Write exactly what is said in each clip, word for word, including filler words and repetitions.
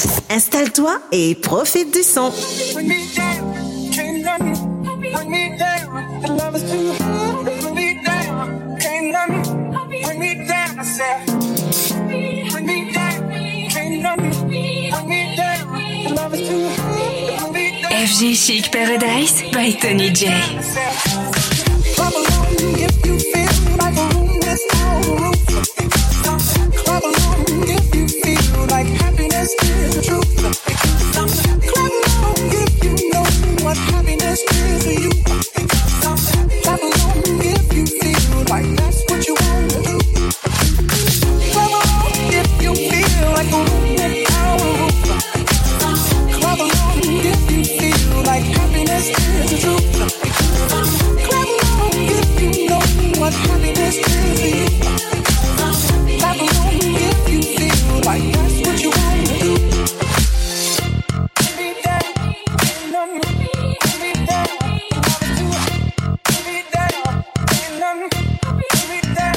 Installe-toi et profite du son. F G Chic Paradise by Tony J. Clap along if you feel like a room without a roof. Clap along if you feel like happiness is the truth. Clap along if you know what happiness is to you. Clap along if you feel like that's what you want to do. Clap along if you feel like a room without a roof. Clap along if you feel like happiness is the truth. What happiness is to you. Clap along if you feel like that's what you want to do. Be there, be there, be there, be there, be there,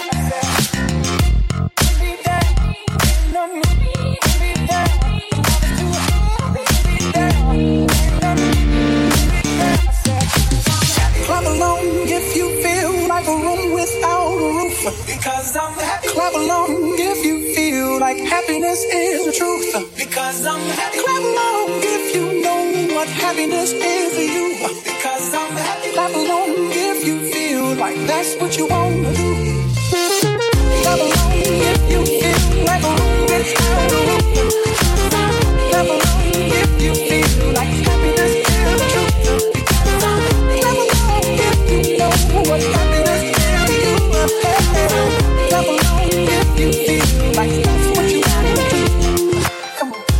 clap along if you feel like a room without a roof. Because I'm happy. Clap along if you feel like happiness is the truth. Because I'm happy. Clap along if you know what happiness is to you. Because I'm happy. Clap along if you feel like that's what you want to do. Clap along if you feel like a room without a roof. Clap along if you feel like happiness is the truth. Clap along if you know what happiness is to you. Clap along if you feel like that's what you want to do. Come on.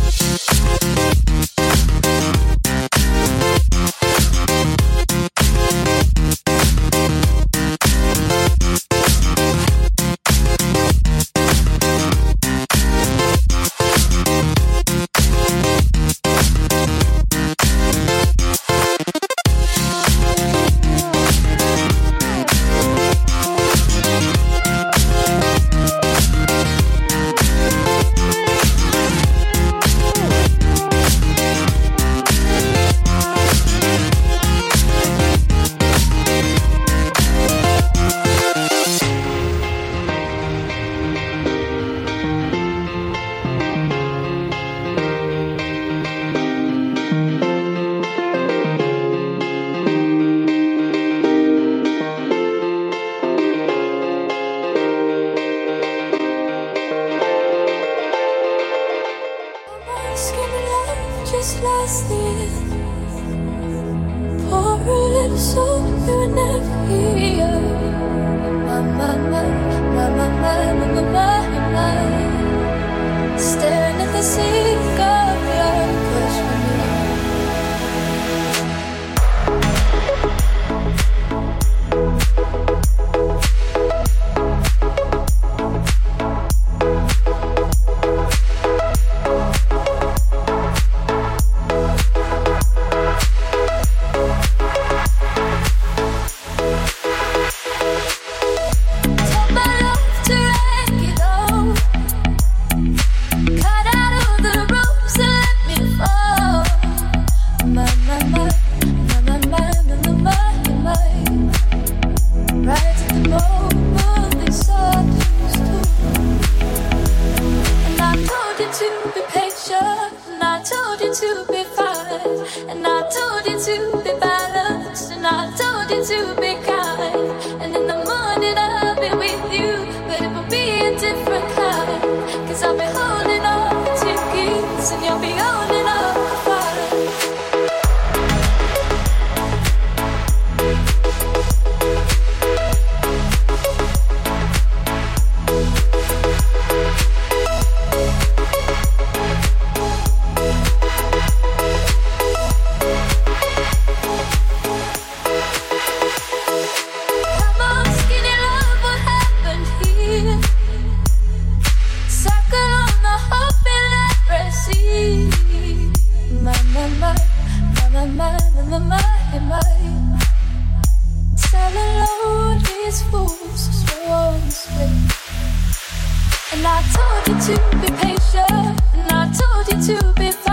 And I told you to be patient, and I told you to be fine.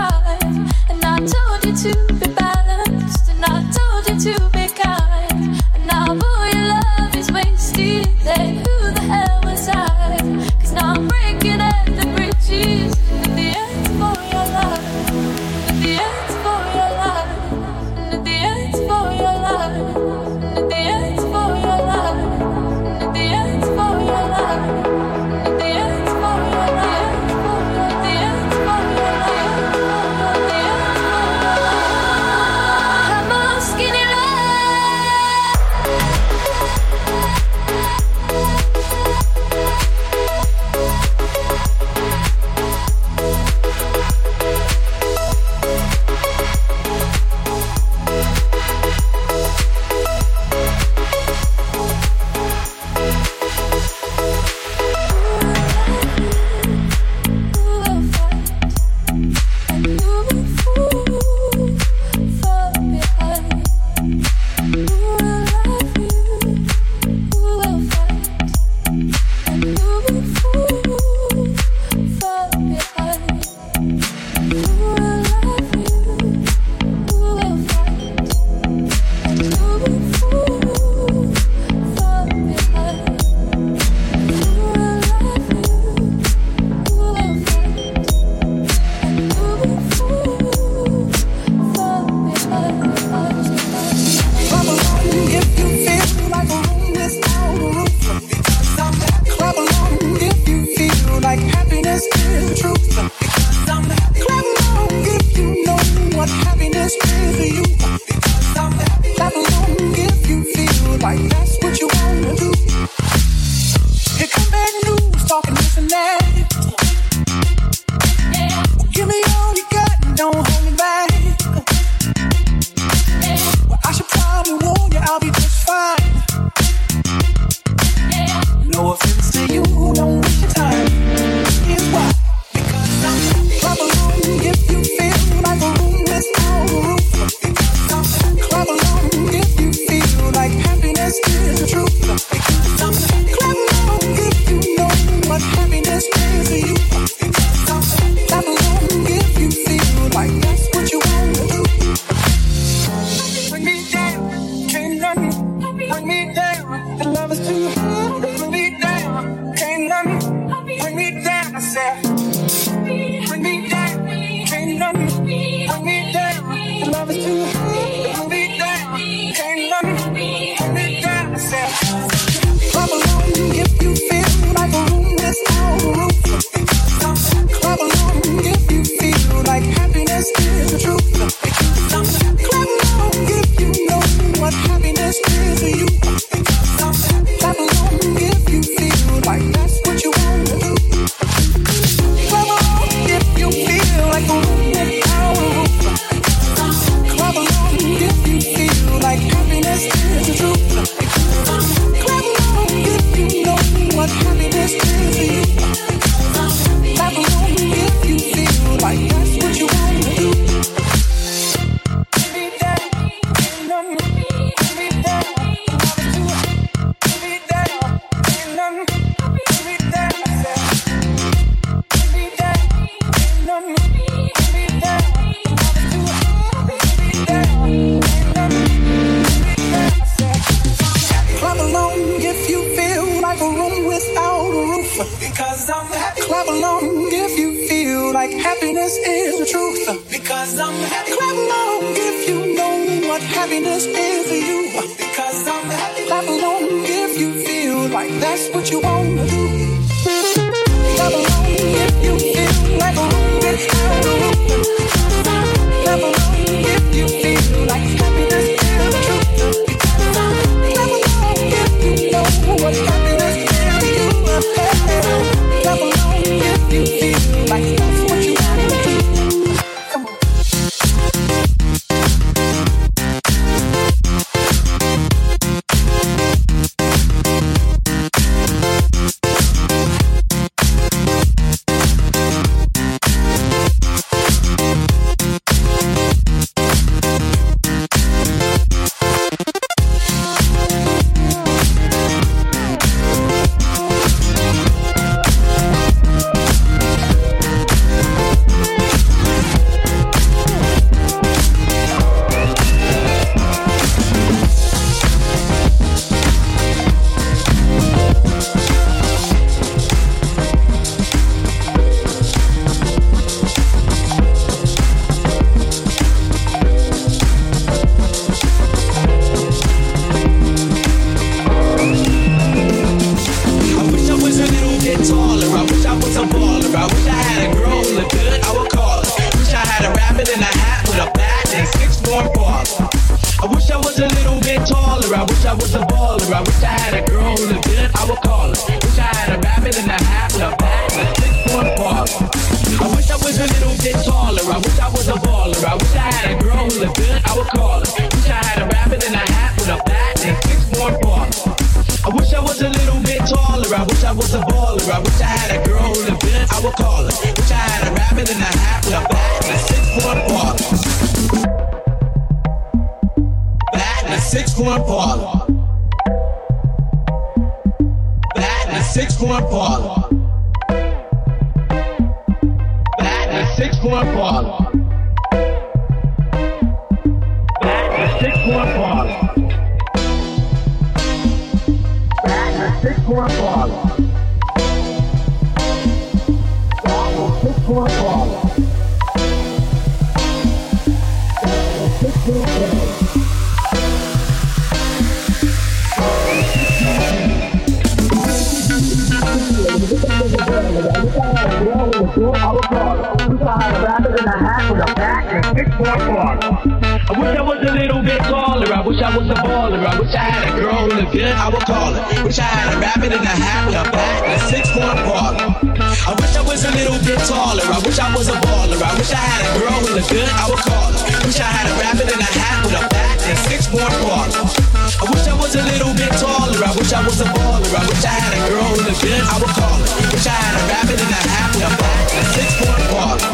Six four parlor. Back to six four parlor. Back to six four parlor. Back to six four parlor. Six four parlor. I wish I was a little bit taller. I wish I was a baller. I wish I had a girl who looked good. I would call her. Wish I had a rabbit in a hat with a bat and a six-foot baller. I wish I was a little bit taller. I wish I was a baller. I wish I had a girl who looked good. I would call her. Wish I had a rabbit in a hat with a bat and a six-foot baller. I wish I was a little bit taller. I wish I was a baller. I wish I had a girl who looked good. I would call her. Wish I had a rabbit in a hat with a bat and a six-foot baller.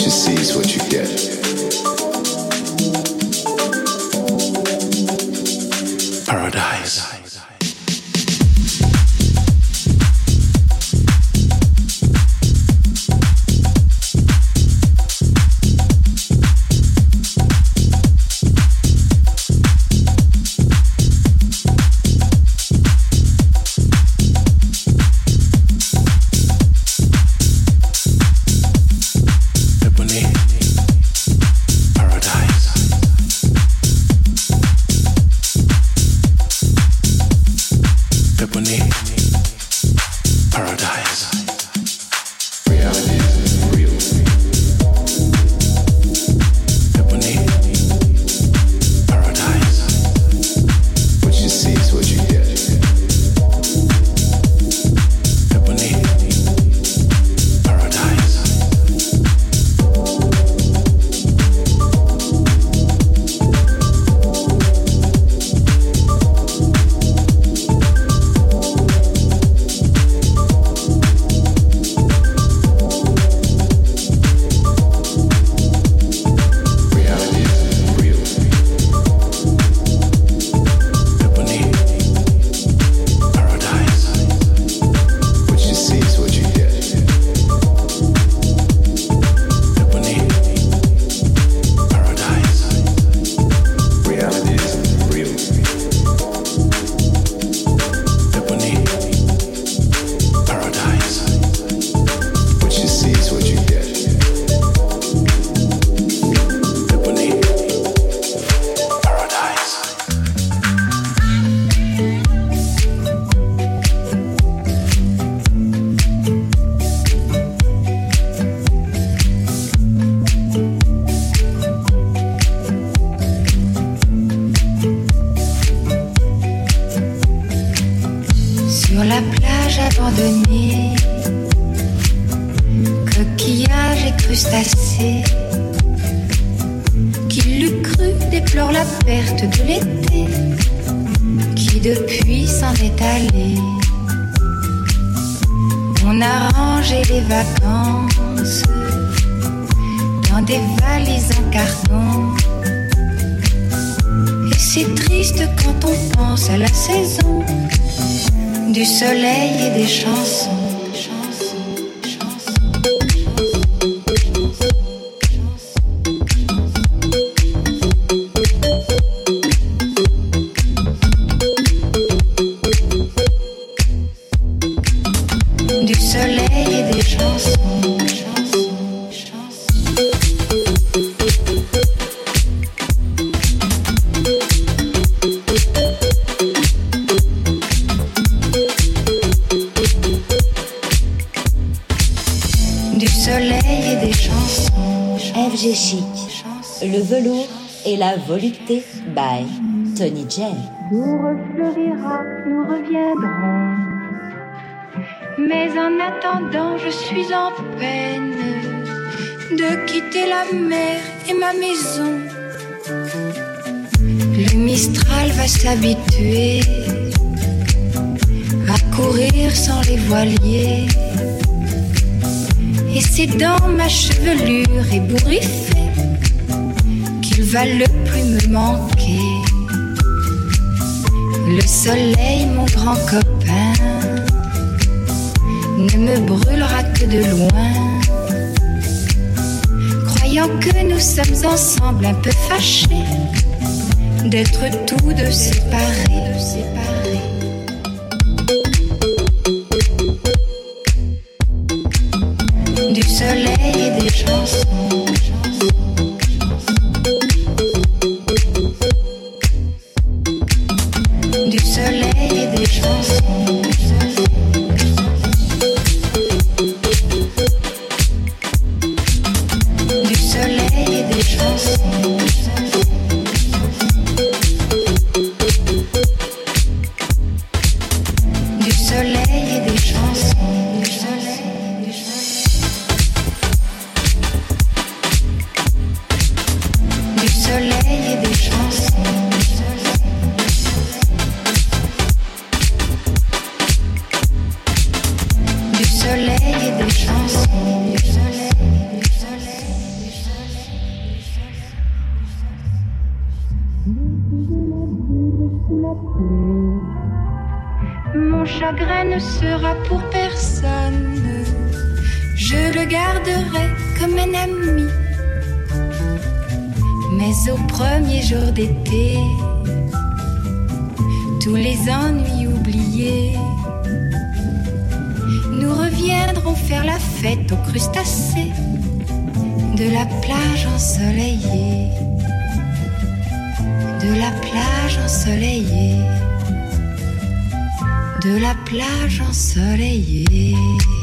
you see is what you get. Paradise. Volupté by Tony J. Tout refleurira, nous reviendrons. Mais en attendant, je suis en peine de quitter la mer et ma maison. Le Mistral va s'habituer à courir sans les voiliers. Et c'est dans ma chevelure ébouriffée qu'il va le plus me manquer. Le soleil, mon grand copain, ne me brûlera que de loin. Croyant que nous sommes ensemble un peu fâchés d'être tous deux séparés, de séparés. Du soleil et des chansons. Du soleil et des chansons. Du soleil et des chansons. Du soleil et des chansons. Du soleil, du soleil. Du soleil et des chansons. Du soleil et des chansons. Du soleil, du soleil. chagrin ne sera pour personne. Je le garderai comme un ami. Mais au premier jour d'été, tous les ennuis oubliés, nous reviendrons faire la fête aux crustacés de la plage ensoleillée, de la plage ensoleillée, de la plage ensoleillée.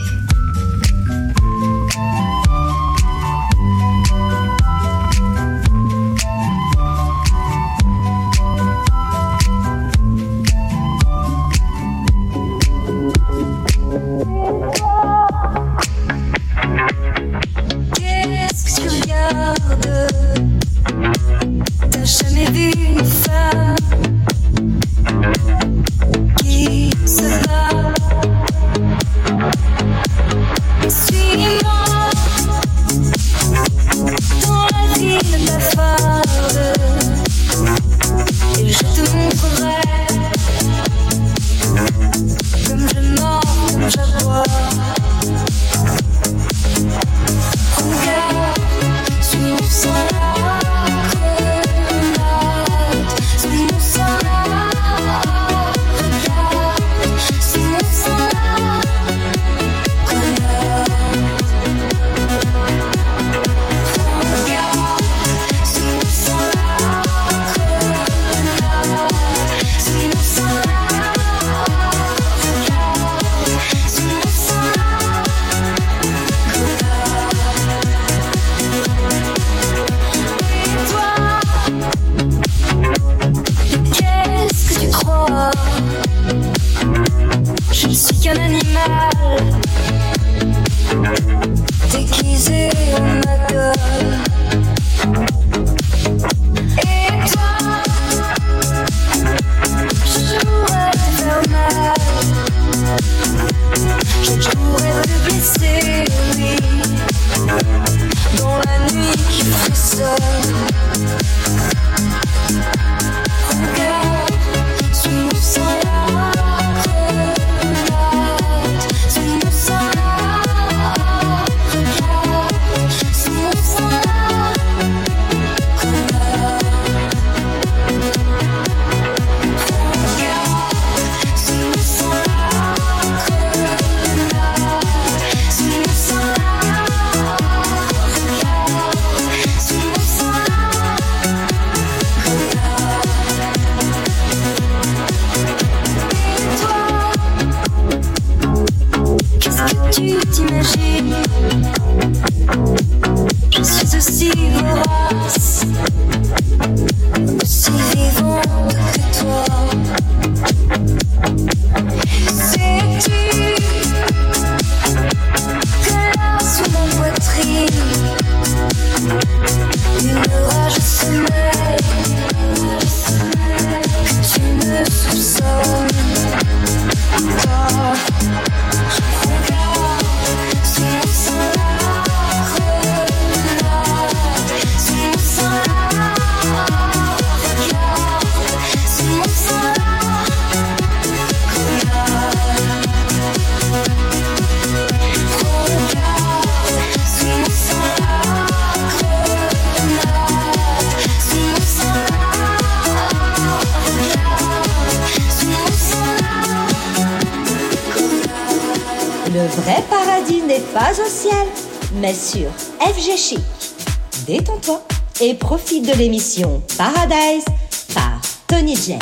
Mais sur F G Chic. Détends-toi et profite de l'émission Paradise par Tony J.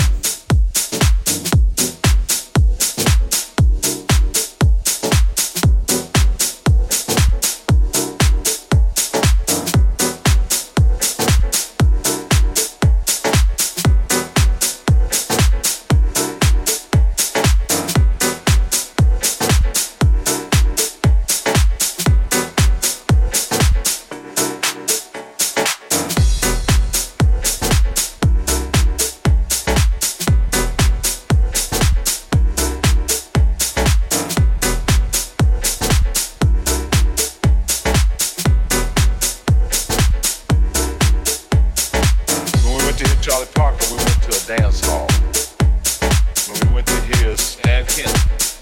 Charlie Parker, we went to a dance hall. When we went to hear Stan Kenton.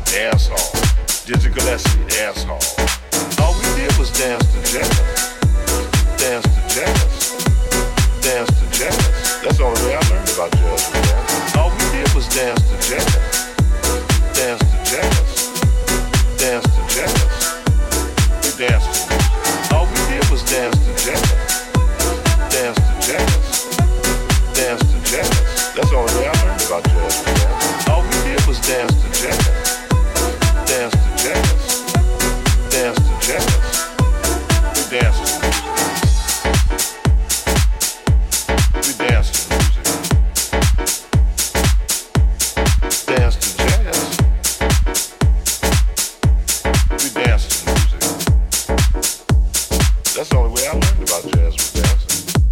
dance hall. Dizzy Gillespie, dance hall. All we did was dance to jazz. Dance to jazz. Dance to jazz. That's the only way I learned about jazz was dance. All we did was dance to jazz. Dance to jazz. Dance to jazz. We danced to music. All we did was dance to jazz. Dance to jazz. Dance to jazz. That's the only way I learned about jazz was dance. All we did was dance to jazz. Dance to jazz. Dance to jazz. We danced to music. We danced to music. Dance to jazz. We danced to music. That's the only way I learned about jazz was dancing.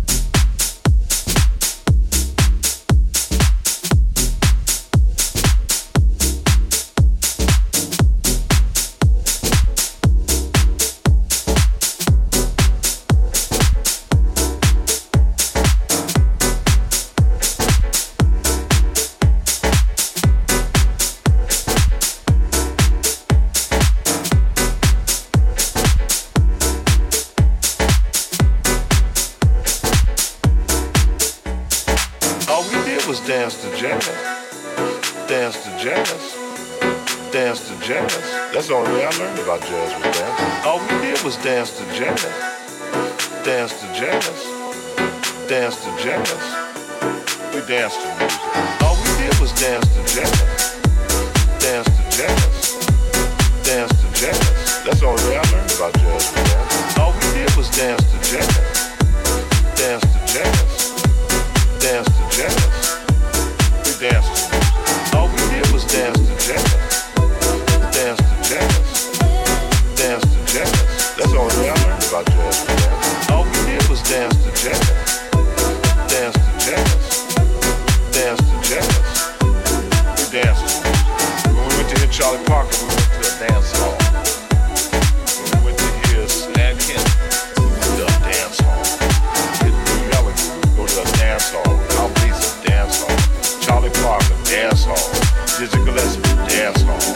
Dance to jazz, dance to jazz, dance to jazz. That's the only way I learned about jazz was dance. All we did was dance to jazz, dance to jazz, dance to jazz. We danced to music. All we did was dance to jazz, dance to jazz, dance to jazz. That's the only way I learned about jazz was dance. All we did was dance to jazz, dance to jazz, dance to jazz. Dance to music. All we did was dance to jazz. Dance to jazz. Dance to jazz. That's the only way I learned about jazz was dance. All we did was dance to jazz. Dance to jazz. Dance to jazz. We danced to music. When we went to hear Charlie Parker, we went to a dance hall. When we went to hear Stan Kenton, we went to a dance hall. Hit New Melody, we go to a dance hall. Al Beeson, dance hall. Charlie Parker, dance hall. Dizzy Gillespie, dance hall.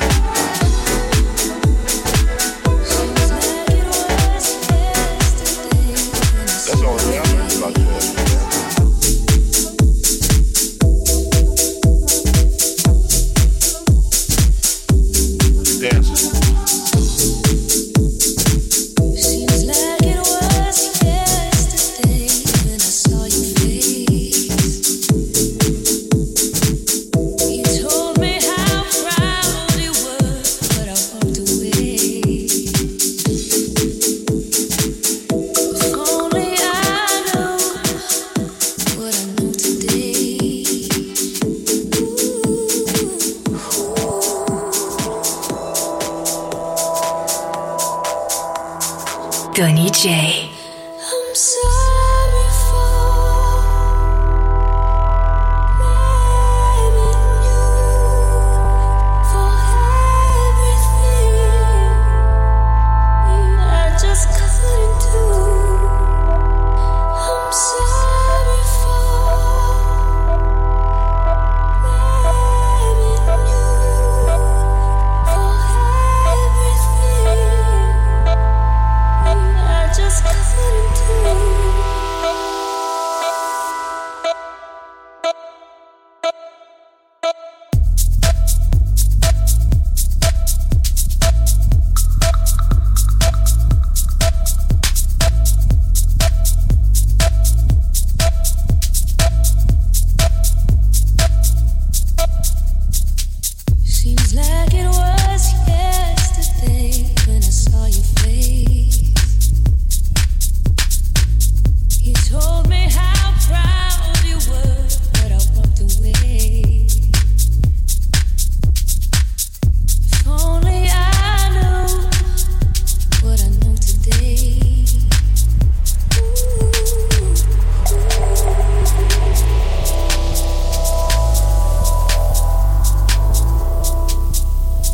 That's the only way I learned about jazz. Dancing. Seems like it was yesterday when I saw your face. You told me how proud you were, but I walked away. If only I knew what I know today. Tony J. I'm sorry for blaming you for everything I just couldn't do. I'm sorry for blaming you for everything I just couldn't do. Seems like it was yesterday when I saw your face. You told me how proud you were, but I walked away. If only I knew what I know today. Ooh.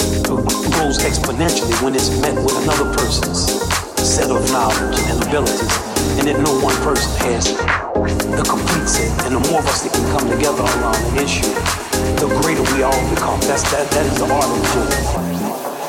grows exponentially when it's met with another person's set of knowledge and abilities, and that no one person has the complete set. And the more of us that can come together around an issue, the greater we all become. That's that. That is the art of doing it.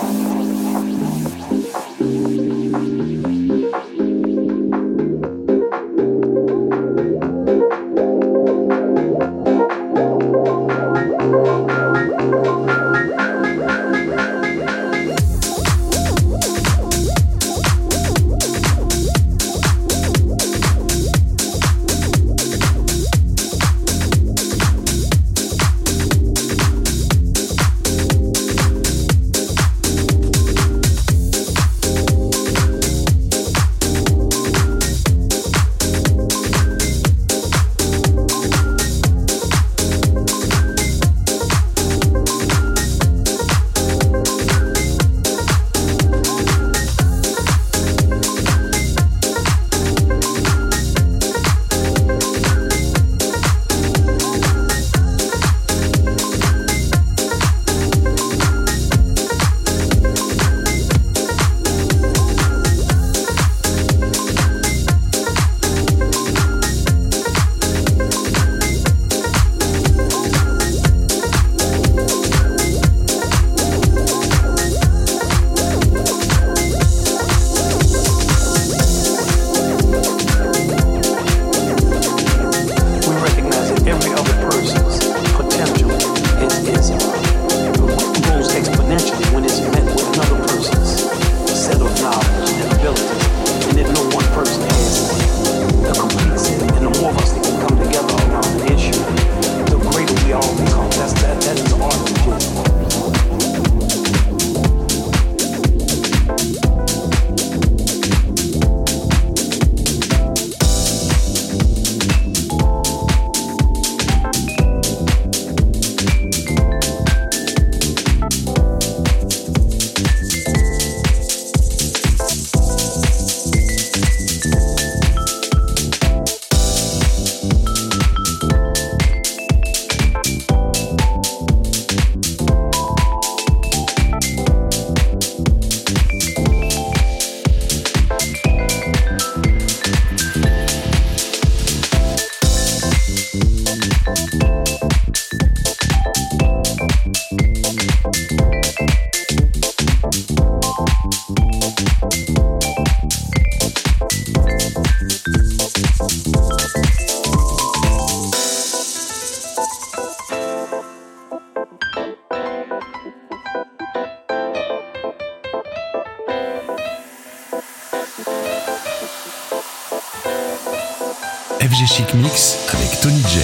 F G Chic Mix avec Tony J.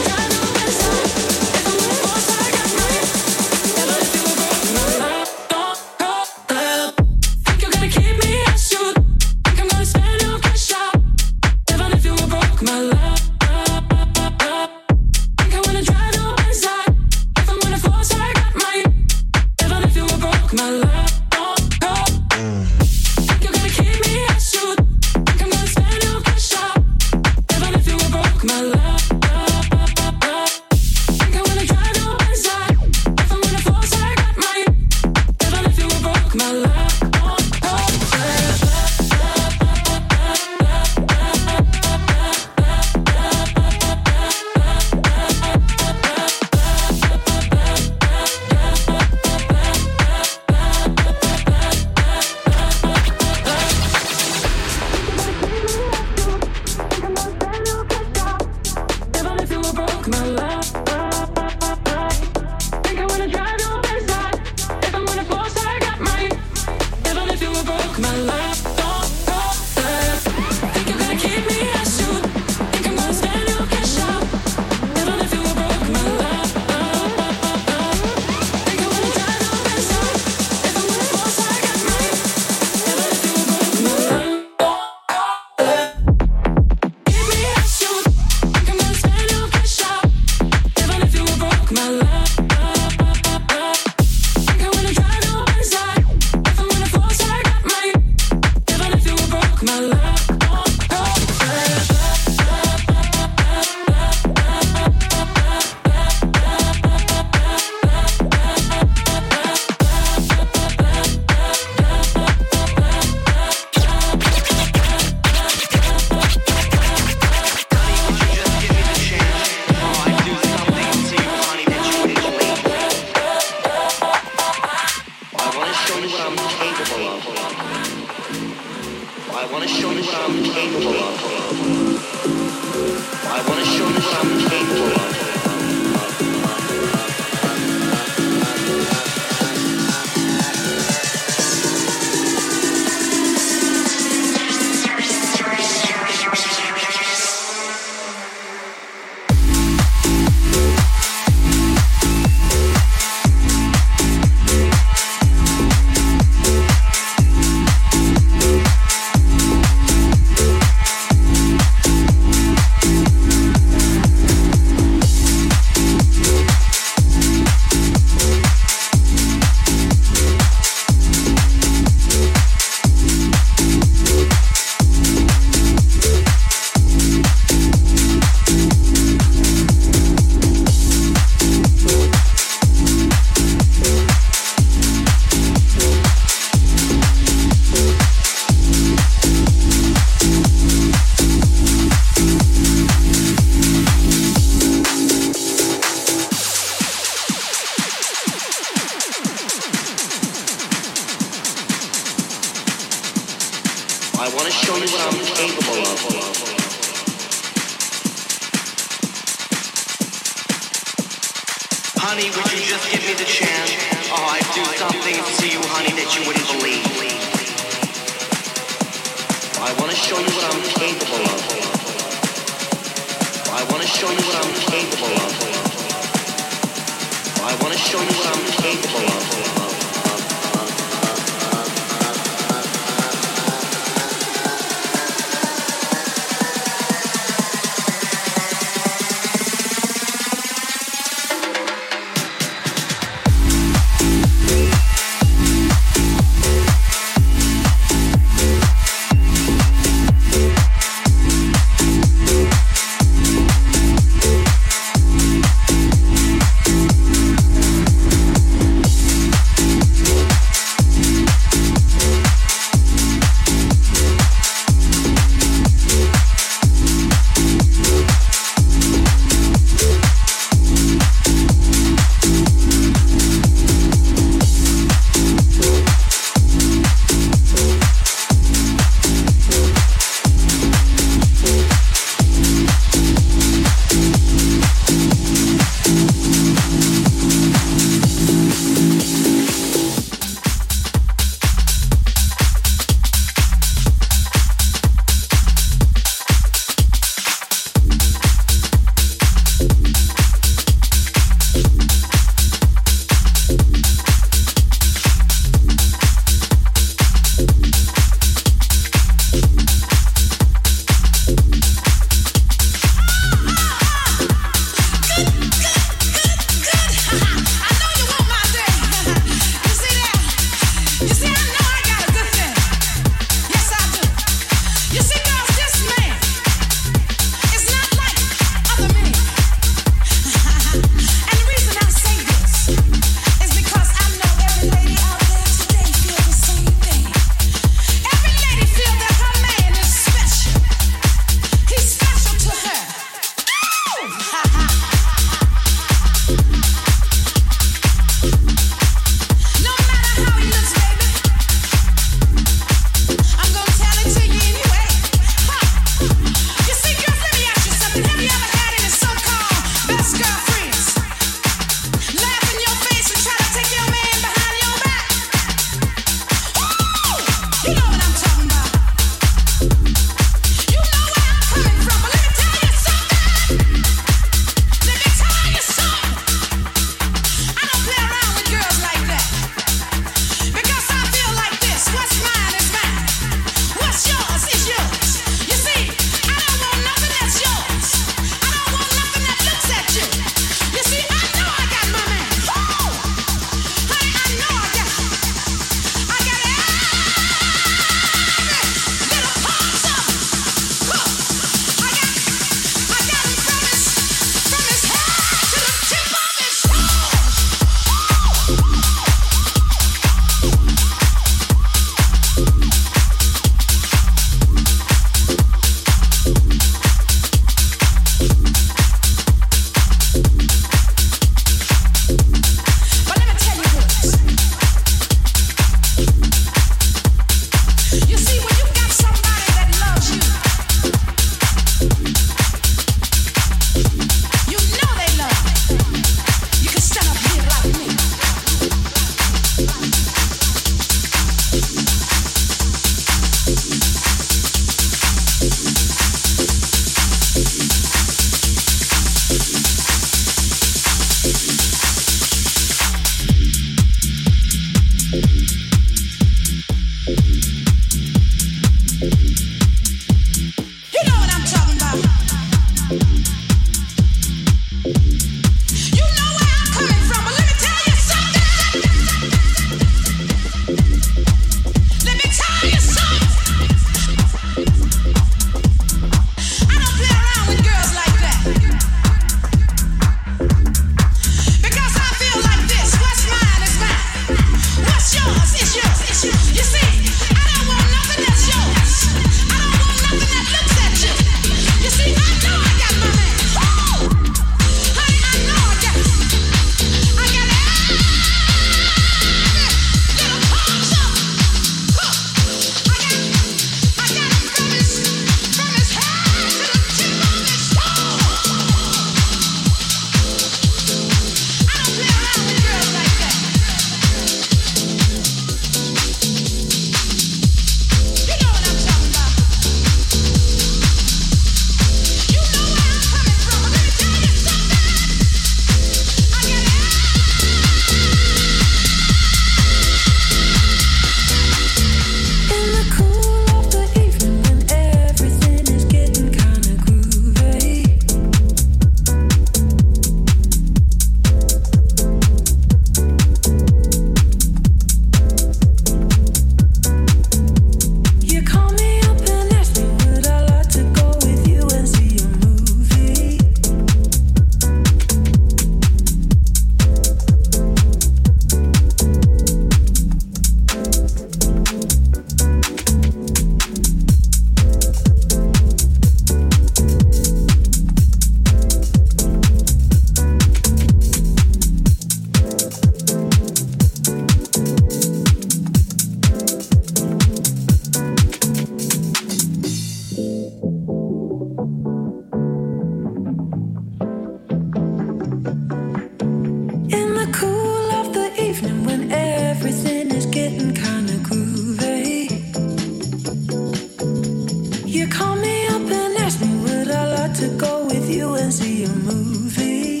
you and see a movie.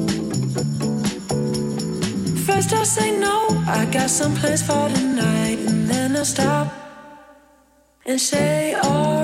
First I'll say no, I got some plans for tonight, and then I'll stop and say alright.